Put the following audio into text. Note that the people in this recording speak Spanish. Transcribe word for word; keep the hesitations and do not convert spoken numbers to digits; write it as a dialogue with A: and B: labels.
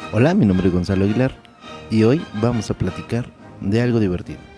A: Hola, mi nombre es Gonzalo Aguilar y hoy vamos a platicar de algo divertido.